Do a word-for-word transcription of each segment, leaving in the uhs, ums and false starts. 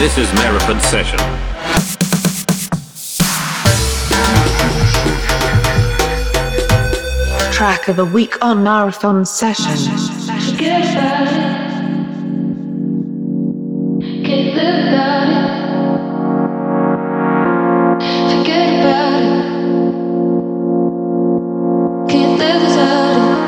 This is Marathon Session. Track of a week on Marathon Session. Forget about it. Can't live without it. Forget about it. Can't live without it.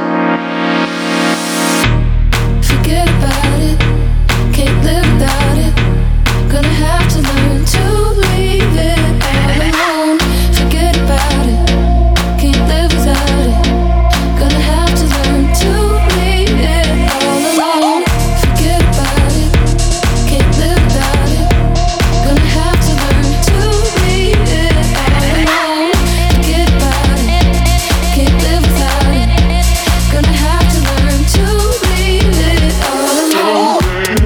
Forget about it. Can't live without it. Gonna have to learn to leave it all alone. Forget about it. Can't live without it. Gonna have to learn to leave it all alone. Forget about it. Can't live without it. Gonna have to learn to leave it all alone. Forget about it. Can't live without it. Gonna have to learn to leave it all alone.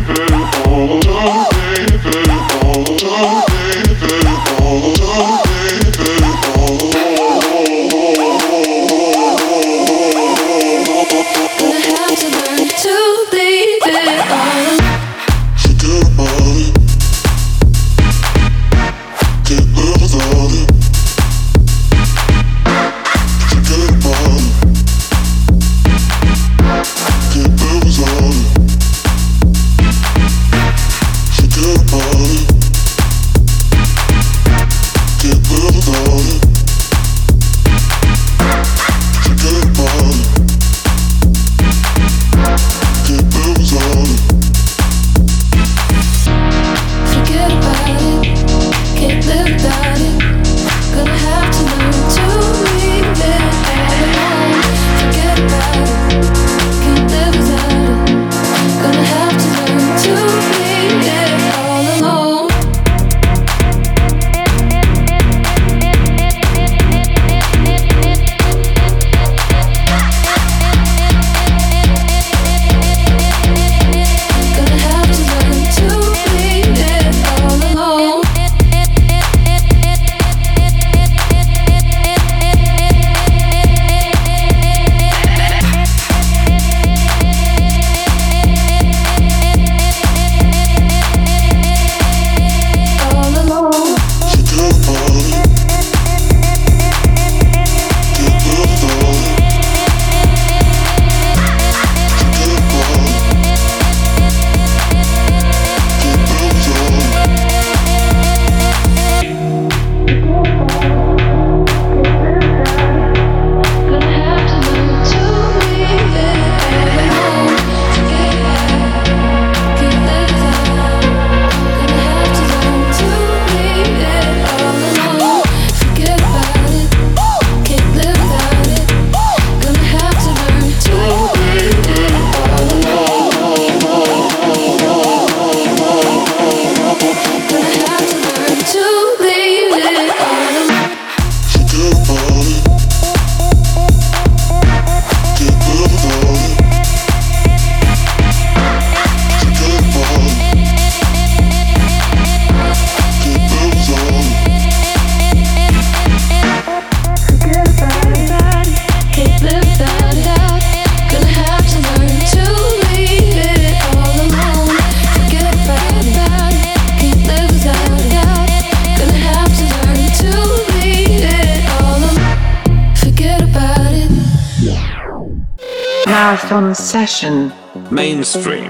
Marathon Session. Mainstream.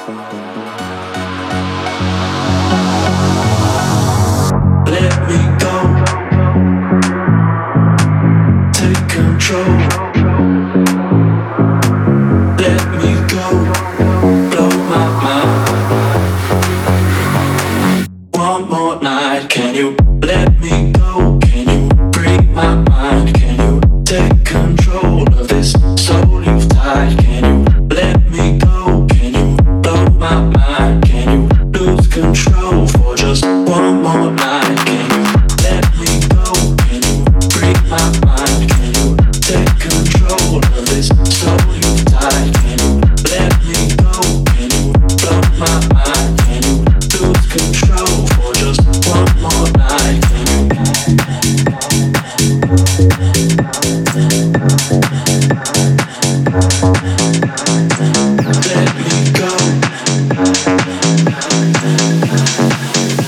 Let me go. Take control. Let me go. Blow my mind. One more night. Can you let me go? Can you break my mind? Can you take control of this soul you've tied? Can you let me go? Can you blow my mind? Can you lose control for just one more night? Can you let me go? Can you break my mind? Can you take control of this soul you've tied? Can you let me go? Can you blow my mind? Can you lose control for just one more night? Can you let me go?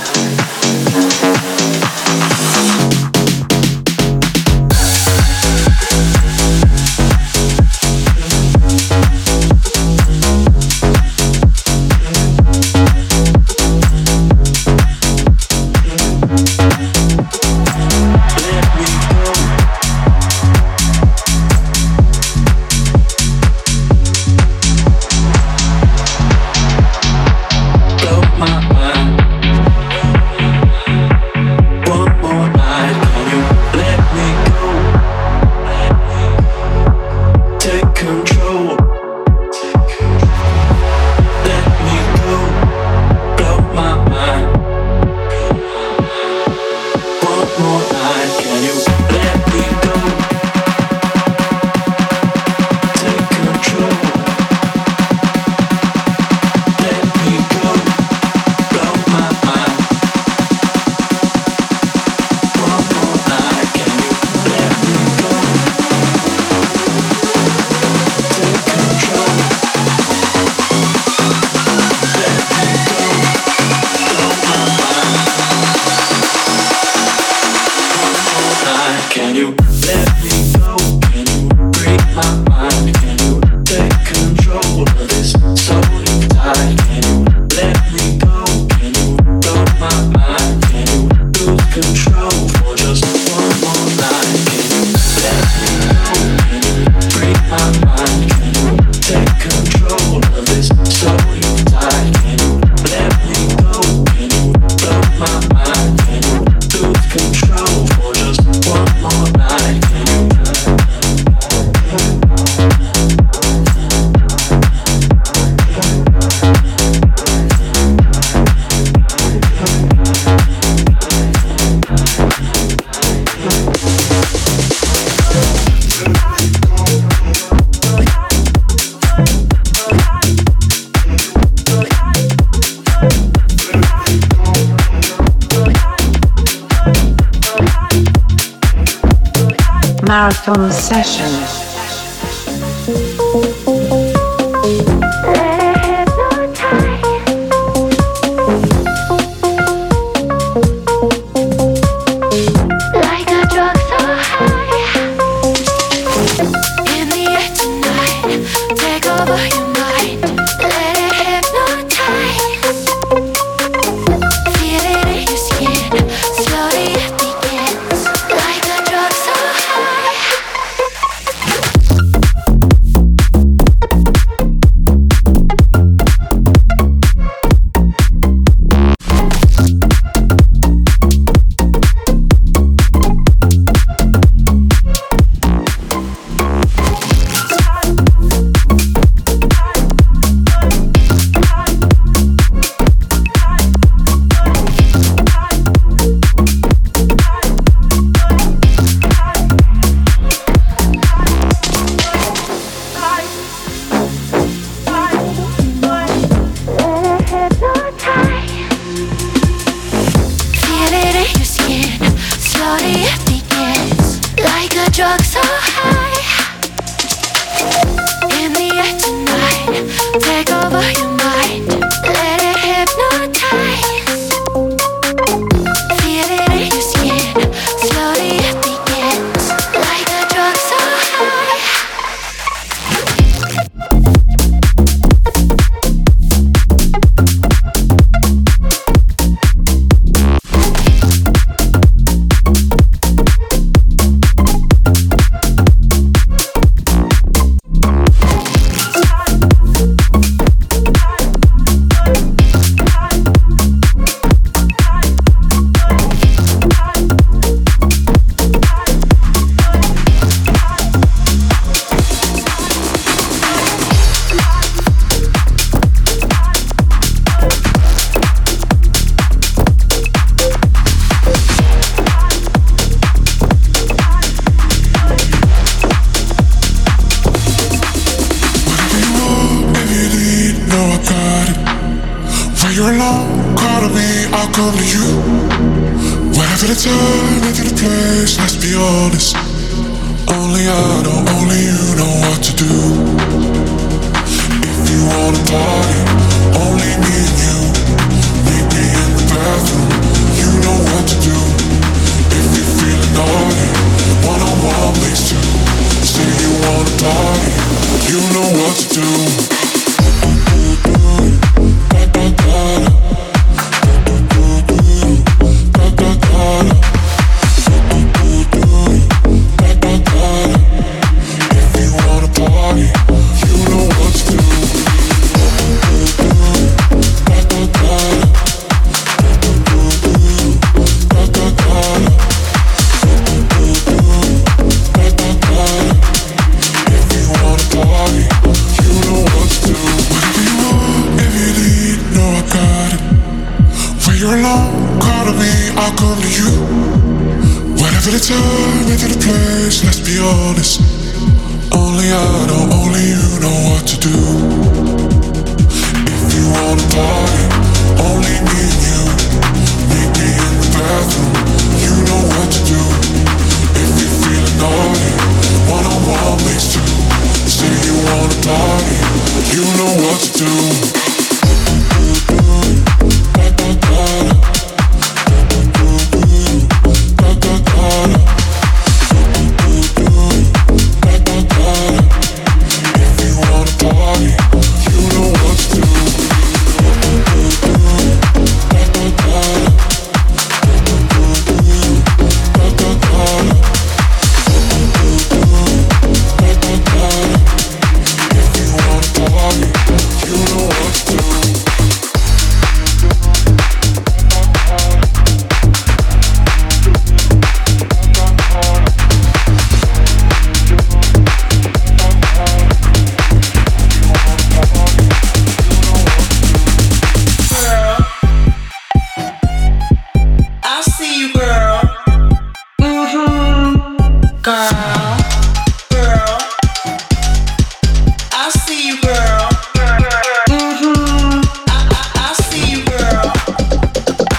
Marathon Session.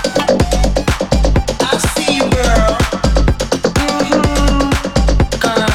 Girl.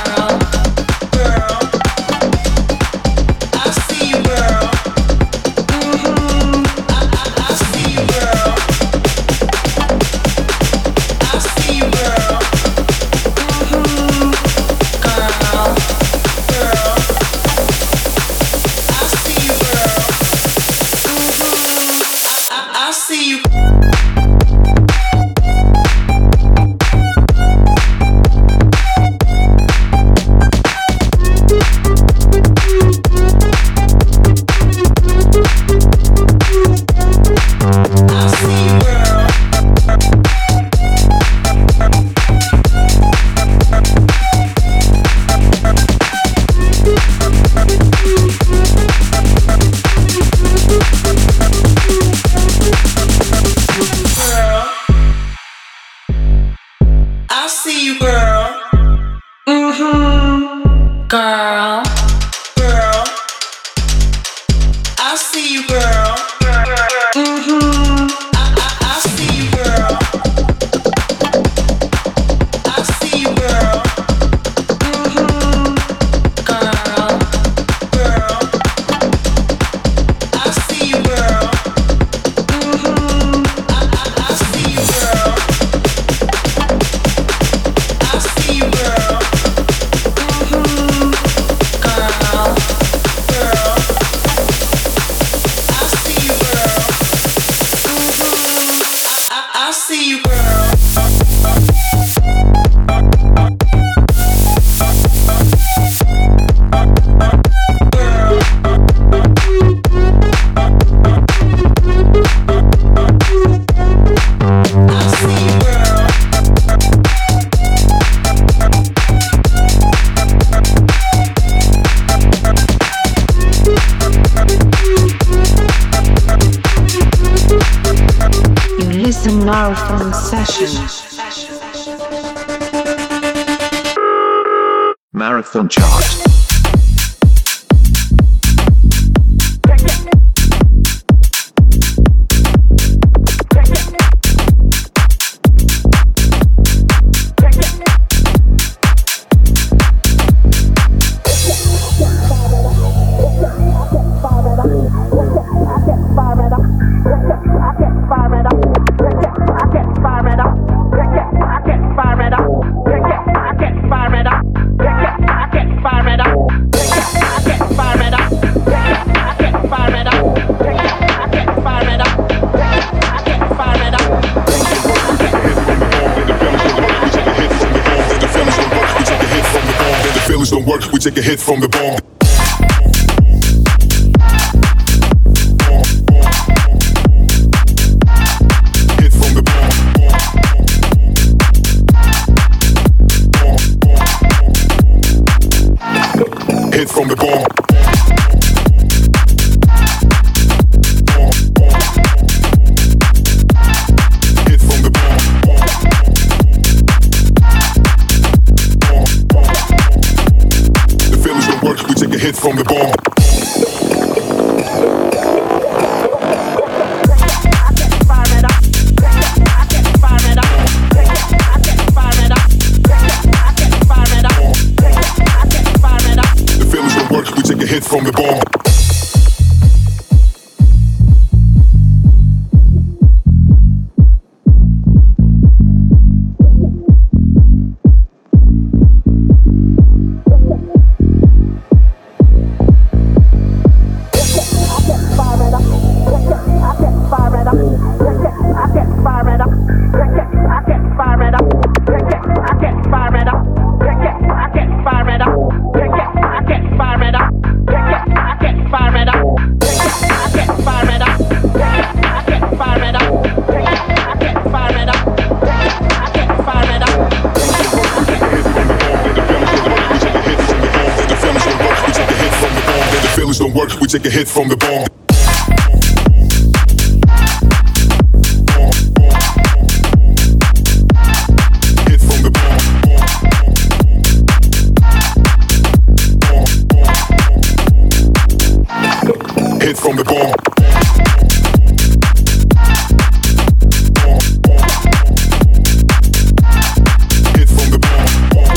see you, girl. Listen Marathon Session. Marathon Chart. Don't work, we take a hit from the bomb. Hit from the bomb. Hit from the bomb. Hit from the bomb. Work, we take a hit from the bomb. The feelings don't work, we take a hit from the bomb. Don't work, we take a hit from the bomb. Hit from the bomb. Hit from the bomb. Hit from the bomb.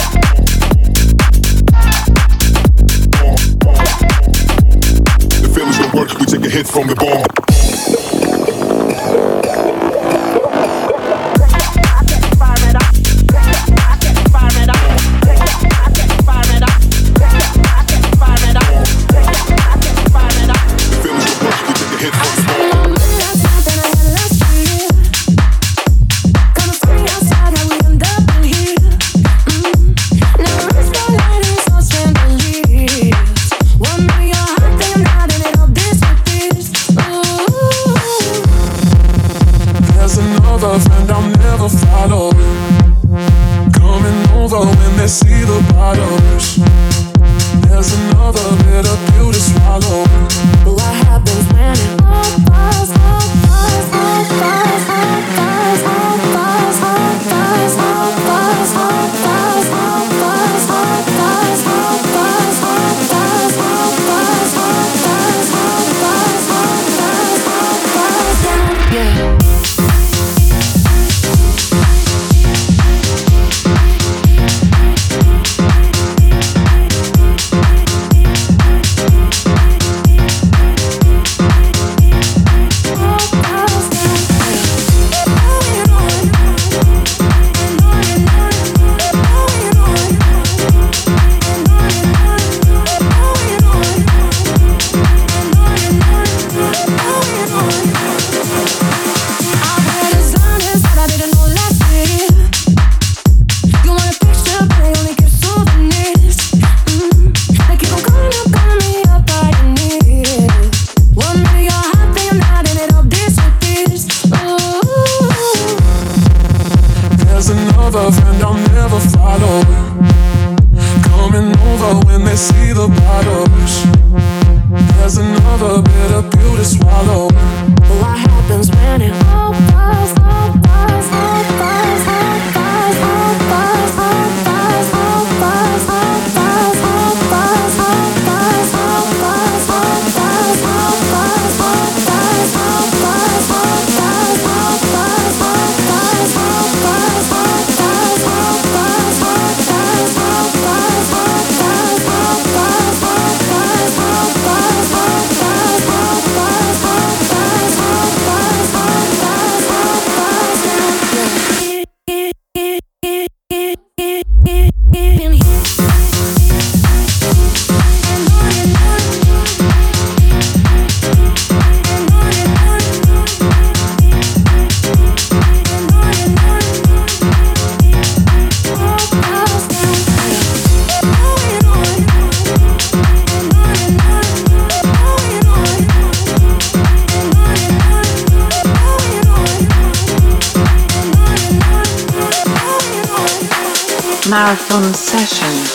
Work, we take a hit from the bomb. See the bottles. There's another bitter pill to swallow. But what happens when it all falls, all falls, all falls, all falls, all falls, all falls, all falls, all falls, all falls, all falls, all falls, all falls, all falls, all falls, all falls, all falls, all falls, all falls, yeah. Marathon Session.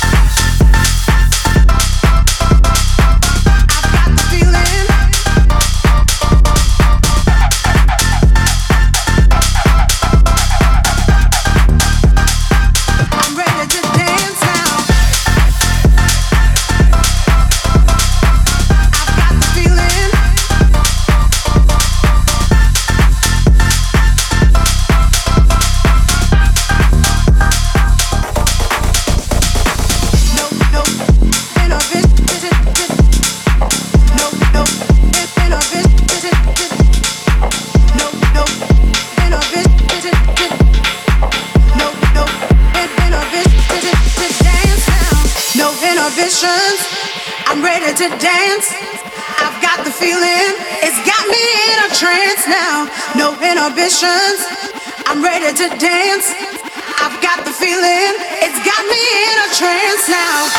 I'm ready to dance. I've got the feeling. It's got me in a trance now. No inhibitions. I'm ready to dance. I've got the feeling. It's got me in a trance now.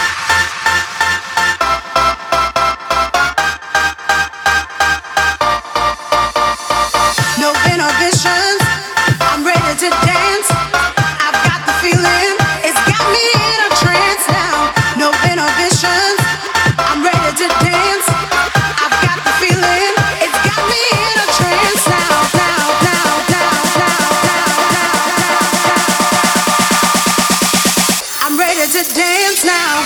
No inhibitions. I'm ready to dance. I've got the feeling. It's got me in a trance now. No inhibitions. I'm ready to dance. I've got the feeling. It's got me in a trance now. Now, now, now, now, now, now. I'm ready to dance now.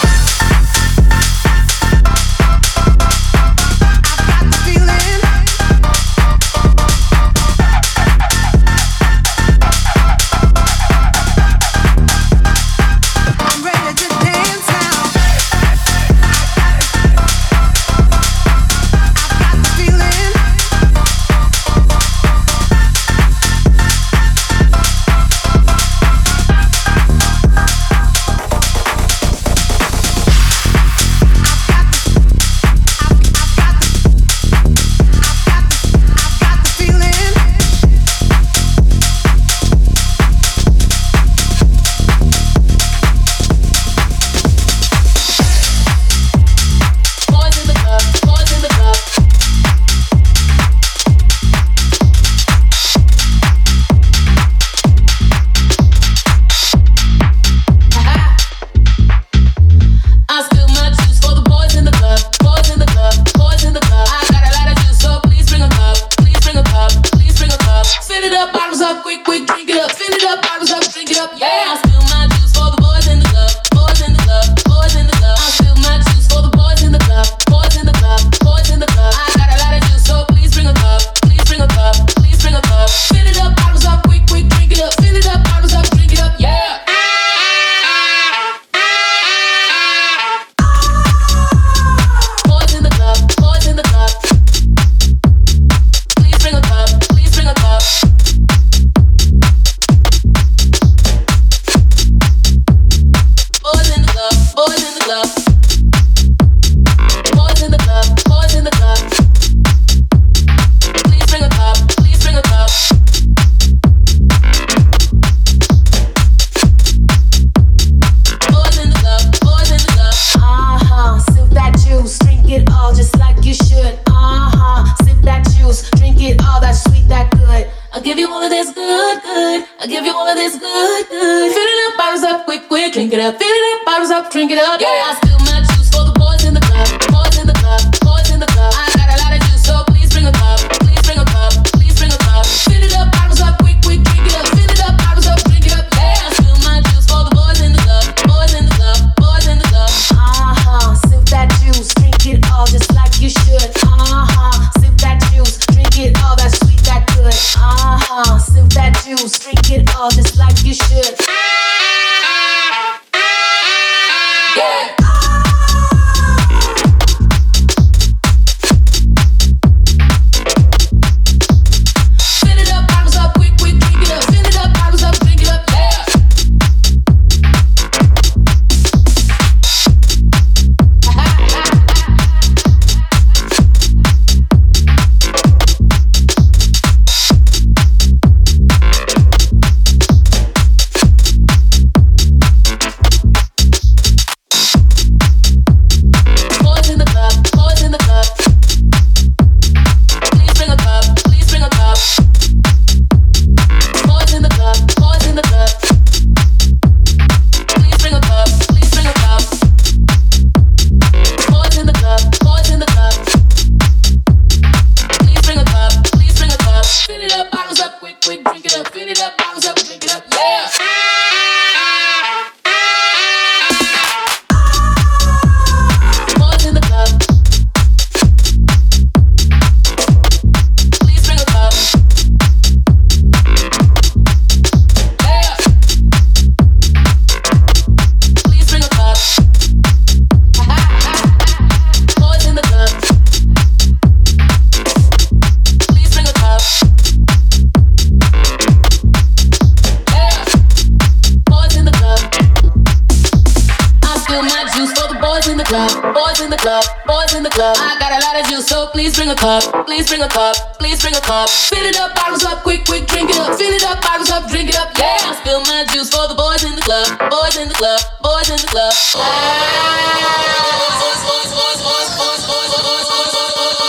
Drink it up, yeah. I spill my juice for the boys in the club, boys in the club, boys in the club. I got a lot of juice, so please bring a cup, please bring a cup, please bring a cup. Fill it up, bottles up, quick, quick, drink it up. Fill it up, bottles up, drink it up, yeah. I spill my juice for the boys in the club, boys in the club, boys in the club. Uh huh, sip that juice, drink it all just like you should. Uh huh, sip that juice, drink it all that sweet, that good. Uh huh, sip that juice, drink it all just like you should. up, fill it up, bottles up, drink it up, yeah. Boys in the club. Please bring a cup. Yeah. Please bring a cup. Boys in the club. Please bring a cup. Yeah. Boys in the club. I spill my juice for the boys in the club. Boys in the club. Boys in the club. I got a lot of juice, so please bring a cup. Please bring a cup. Please bring a cup. Fill it up, bottles up, quick, quick, drink it up. Fill it up, bottles up, drink it up. Yeah. I spill my juice for the boys in the club. Boys in the club. Boys in the club. Ah. Boys, boys, boys, boys, boys, boys, boys, boys, boys, boys,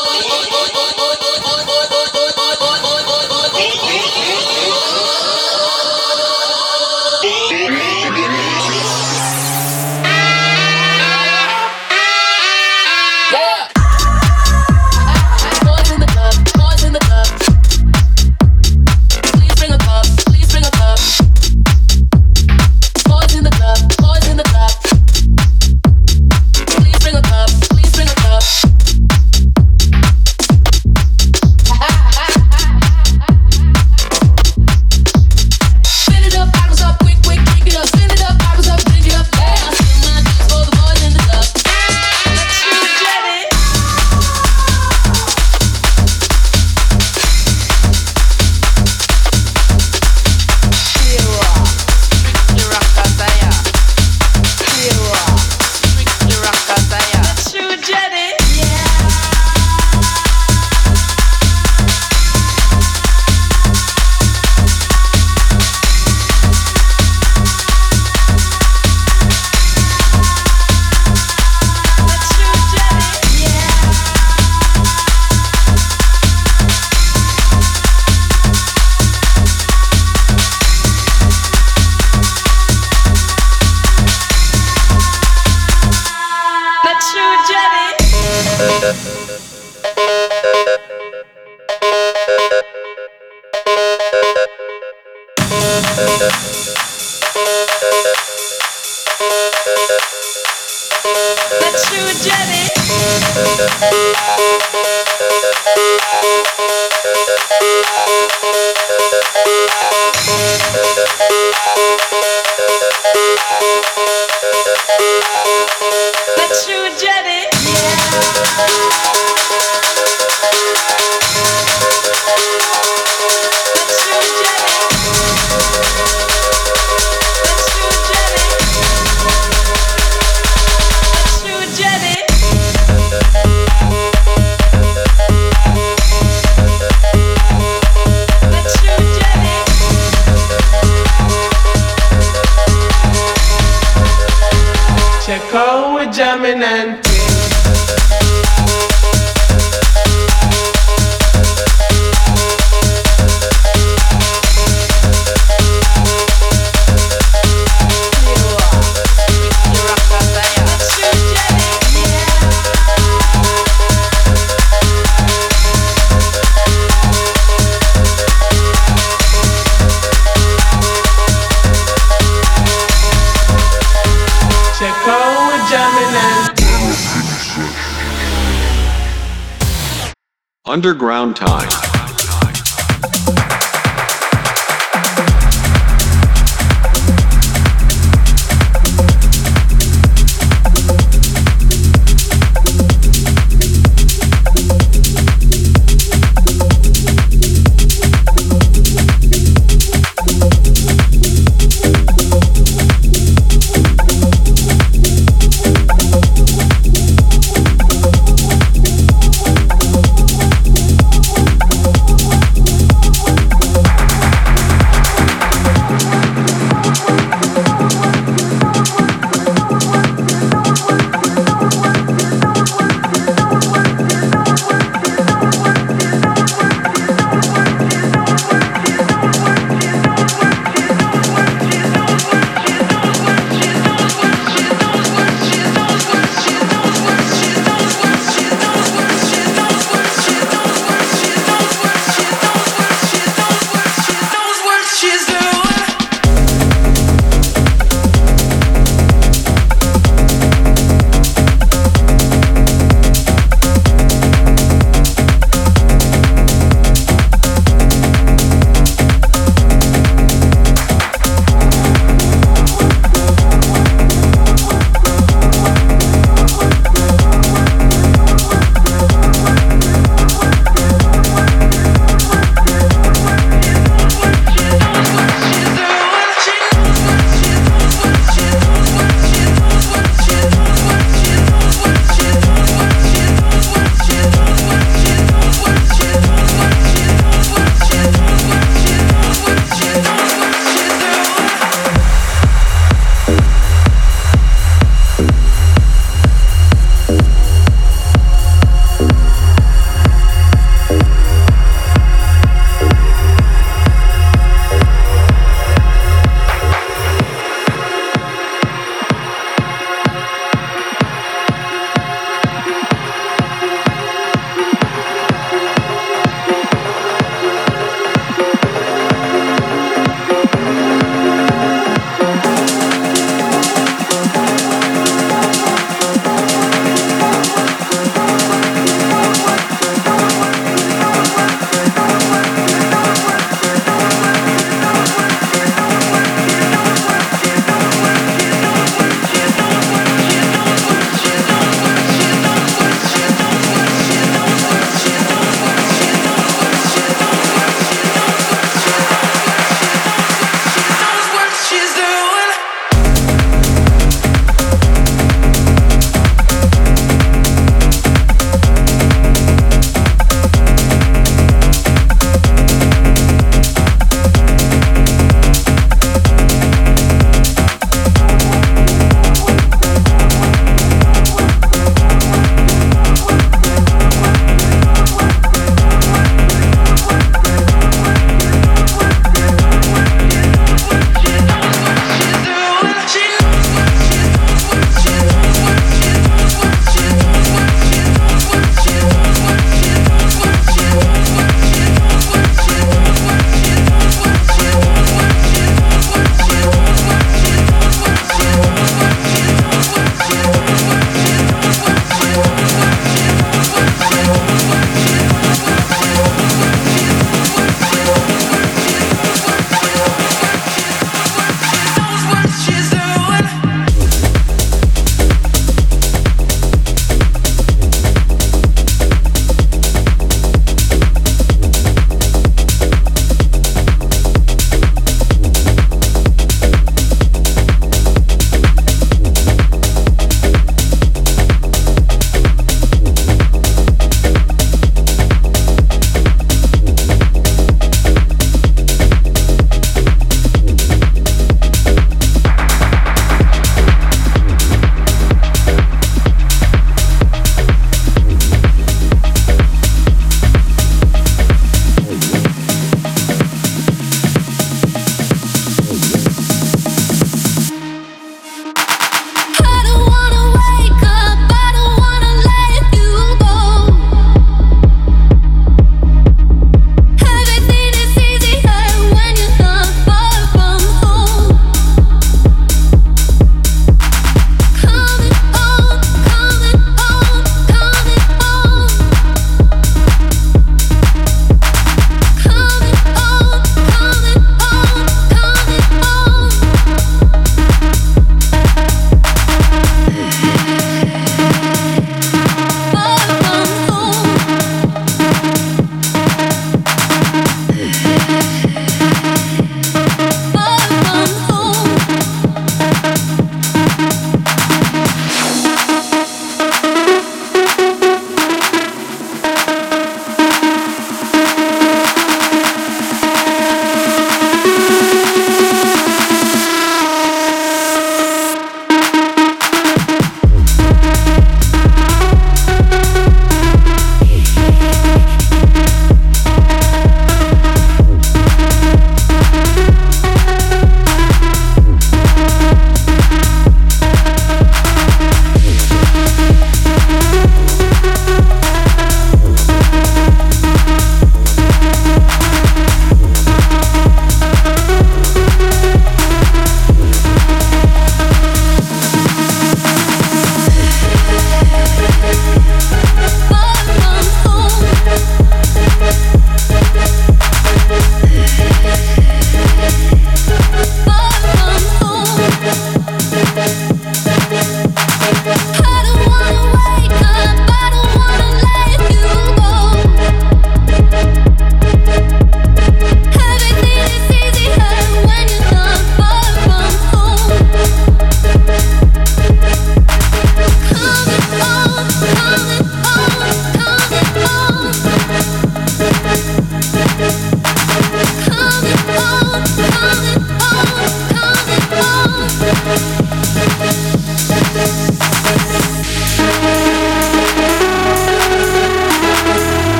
yeah. Boys in the club, boys in the club. Please bring a cup, please bring a cup. Boys in the club, boys in the club. Please bring a cup, please bring a cup. Fill it up, bottles up, quick, quick, drink it up. Fill it up, bottles up, drink it up. Yeah, I spill my juice for the boys in the club. Let's shoot Jenny. Let's shoot Jenny. Let's shoot Jenny. Let's shoot Jenny. Let's shoot Jenny. Let's shoot Jenny. Let's shoot Jenny. Let's shoot Jenny. Let's shoot Jenny. Let's shoot Jenny. Check out we're jamming and Let's shoot Jenny. check out we're jamming and Underground time.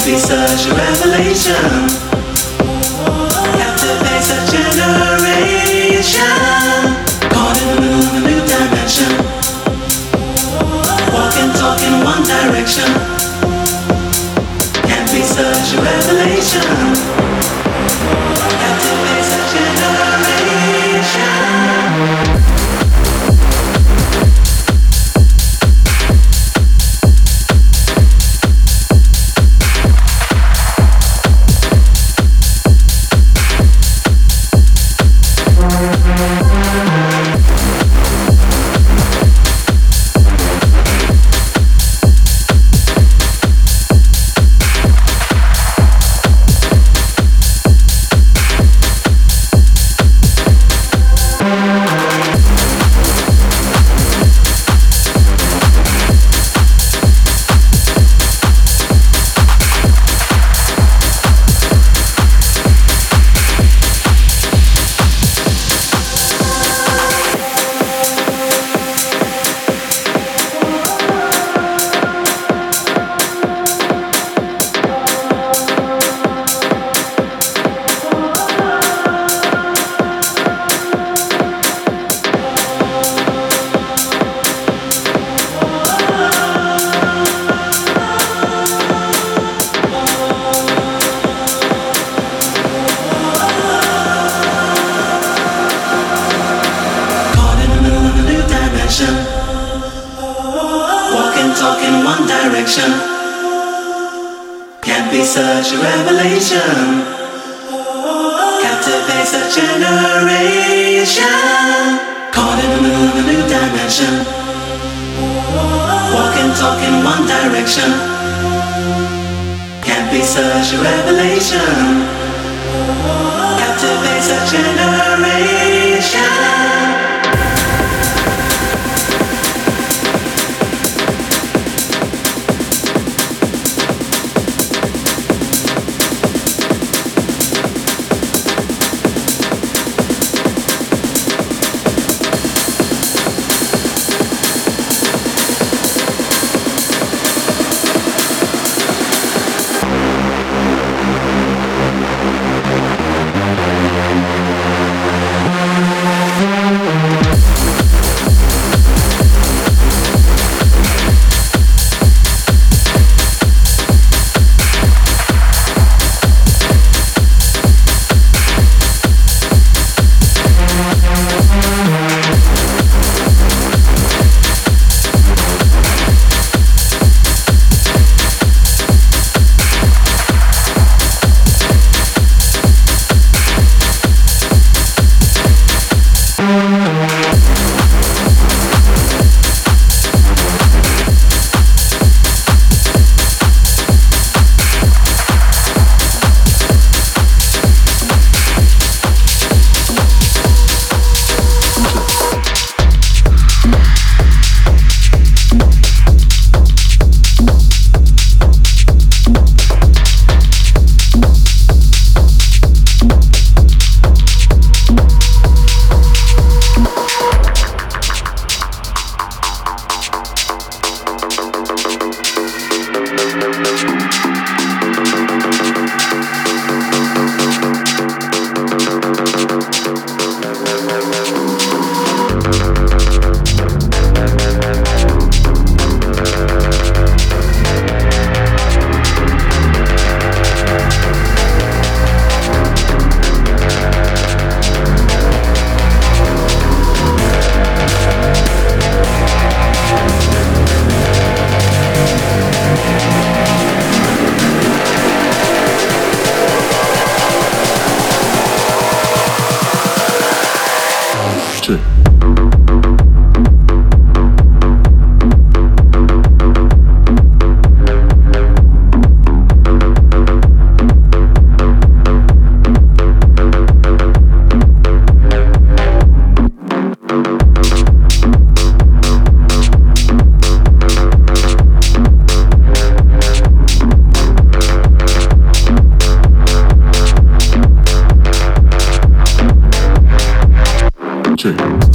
be such a revelation. Captivates a generation. Caught in the middle of a new dimension. Walking, talking one direction. Can be such a revelation. Captivates a generation. Walking, talking one direction. Can't be such a revelation. Captivates a generation. Caught in the middle of a new dimension. Walking, talking one direction. Can't be such a revelation. Captivates a generation. Check.